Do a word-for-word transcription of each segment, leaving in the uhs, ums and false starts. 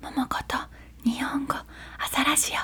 もこと日本語朝ラジ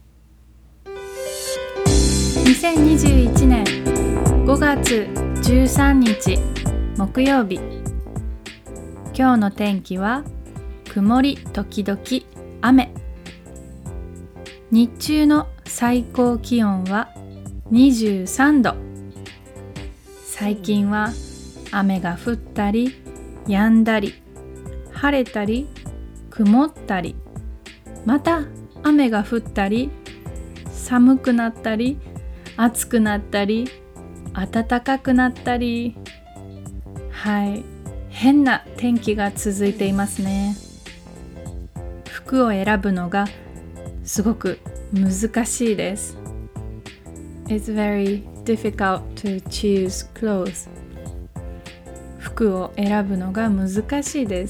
オにせんにじゅういちねんごがつじゅうさんにち木曜日。今日の天気は曇り時々雨。日中の最高気温はにじゅうさんど。最近は雨が降ったり止んだり晴れたり曇ったり、また雨が降ったり寒くなったり暑くなったり暖かくなったり、はい変な天気が続いていますね。服を選ぶのがすごく難しいです。 It's very difficult to choose clothes. 服を選ぶのが難しいです。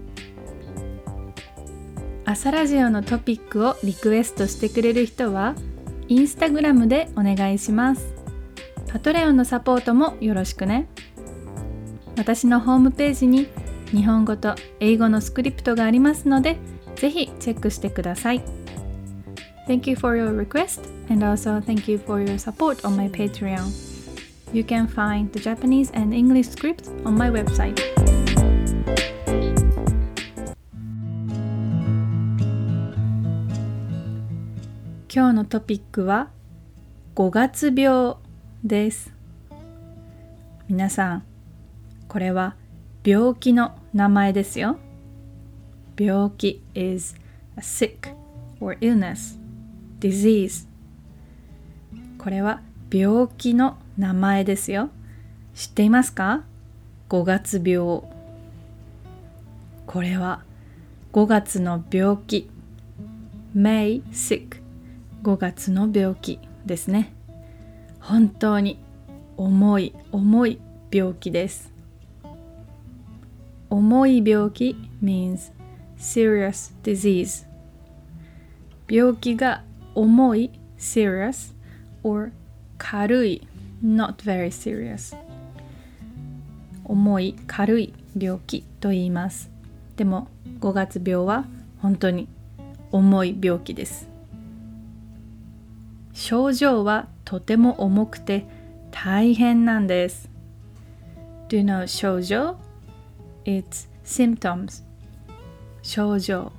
朝ラジオのトピックをリクエストしてくれる人はインスタグラムでお願いします。パトレオンのサポートもよろしくね。私のホームページに日本語と英語のスクリプトがありますので、ぜひチェックしてください。Thank you for your request and also thank you for your support on my Patreon. You can find the Japanese and English scripts on my website. 今日のトピックはごがつ病です。皆さん、これは病気の名前ですよ。病気 is a sick or illness, disease。これは病気の名前ですよ。知っていますか？ごがつ病。これはごがつの病気。May sick。ごがつの病気ですね。本当に重い重い病気です。重い病気 means serious disease。病気が重い serious or 軽い not very serious。重い軽い病気と言います。でもごがつ病は本当に重い病気です。症状はとても重くて大変なんです。Do you know 症状？ It's symptoms。症状。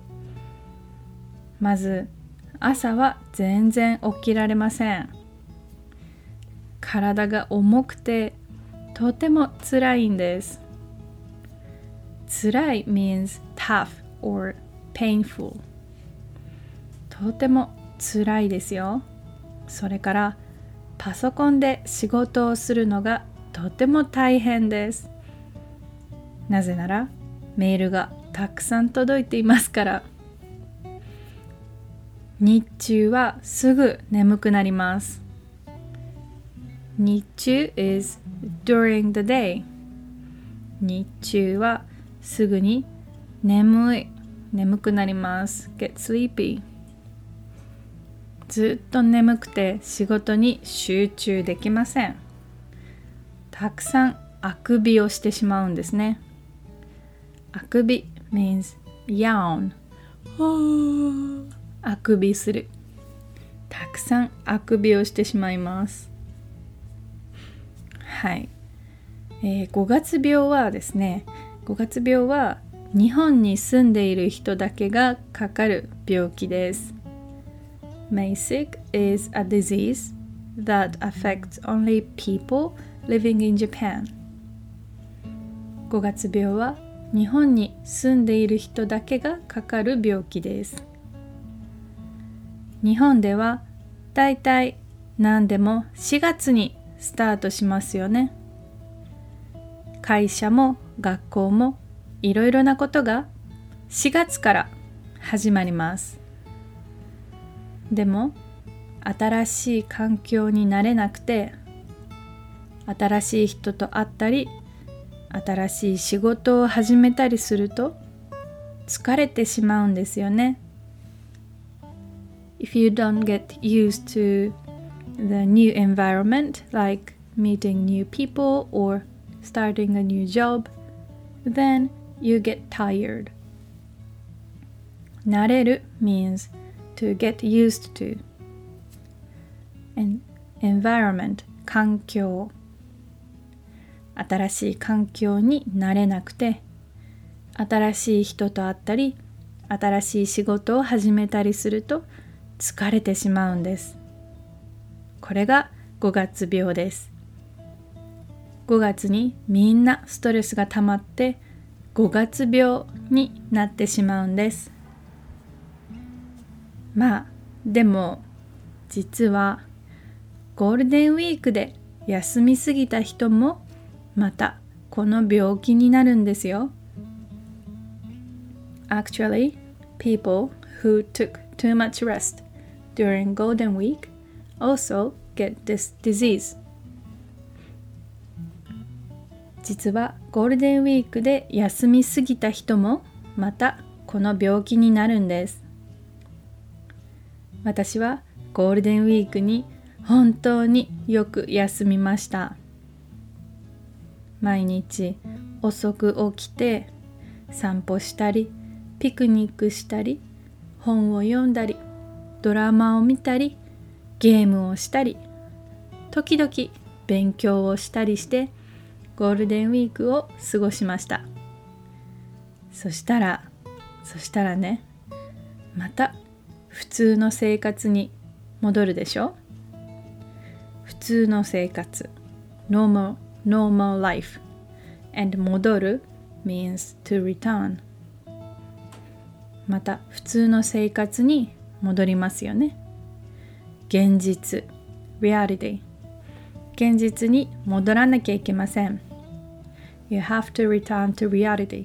まず、朝は全然起きられません。体が重くてとても辛いんです。辛い means tough or painful。とても辛いですよ。それからパソコンで仕事をするのがとても大変です。なぜならメールがたくさん届いていますから。日中はすぐ眠くなります。日中 is during the day。日中はすぐに眠い、眠くなります。Get sleepy。ずっと眠くて仕事に集中できません。たくさんあくびをしてしまうんですね。あくび means yawn。あくびする。たくさんあくびをしてしまいます。はい、えー、ごがつ病はですね、ごがつ病は日本に住んでいる人だけがかかる病気です。May sick is a disease that affects only people living in Japan。ごがつ病は日本に住んでいる人だけがかかる病気です。日本ではだいたい何でもしがつにスタートしますよね。会社も学校もいろいろなことがしがつから始まります。でも新しい環境に慣れなくて、新しい人と会ったり、新しい仕事を始めたりすると疲れてしまうんですよね。If you don't get used to the new environment, like meeting new people or starting a new job, then you get tired. 慣れる means to get used to. And environment 環境。新しい環境に慣れなくて、新しい人と会ったり、新しい仕事を始めたりすると疲れてしまうんです。これがごがつ病です。ごがつにみんなストレスが溜まってごがつ病になってしまうんです。まあでも実はゴールデンウィークで休みすぎた人もまたこの病気になるんですよ。Actually, people who took too much rest during Golden Week also get this disease. 実はゴールデンウィークで休みすぎた人もまたこの病気になるんです。私はゴールデンウィークに本当によく休みました。毎日遅く起きて散歩したり、ピクニックしたり、本を読んだり、ドラマを見たり、ゲームをしたり、時々勉強をしたりしてゴールデンウィークを過ごしました。そしたら、そしたらね、また普通の生活に戻るでしょ。普通の生活、normal, normal life, and 戻る means to return。また普通の生活に戻りますよね。現実 reality 現実に戻らなきゃいけません。 You have to return to reality。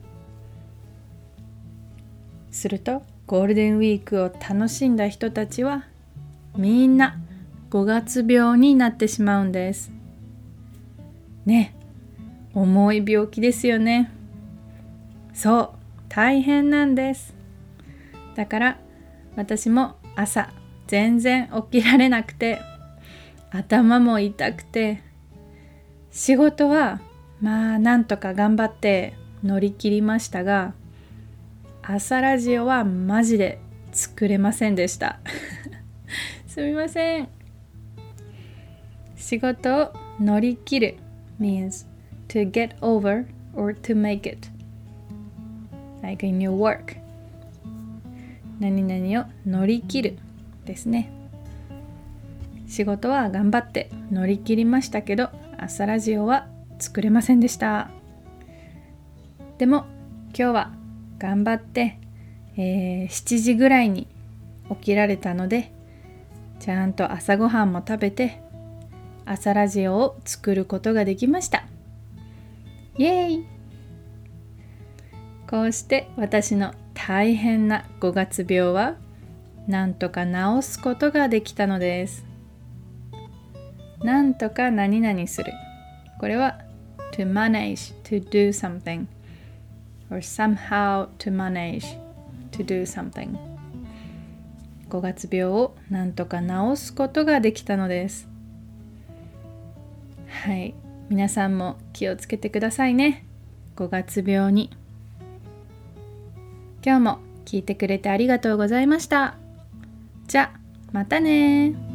するとゴールデンウィークを楽しんだ人たちはみんなごがつ病になってしまうんですね。重い病気ですよね。そう、大変なんです。だから私も朝全然起きられなくて、頭も痛くて、仕事はまあなんとか頑張って乗り切りましたが、朝ラジオはマジで作れませんでしたすみません。仕事を乗り切る means to get over or to make it like in your work。 何々を乗り切るですね。仕事は頑張って乗り切りましたけど、朝ラジオは作れませんでした。でも今日は頑張って、えー、しちじぐらいに起きられたので、ちゃんと朝ごはんも食べて朝ラジオを作ることができました。イエーイ。こうして私の大変なごがつ病はなんとか治すことができたのです。なんとか何々する。これは to manage to do something or somehow to manage to do something。 ごがつ病をなんとか治すことができたのです。はい、皆さんも気をつけてくださいね。ごがつ病に。今日も聞いてくれてありがとうございました。じゃあまたね。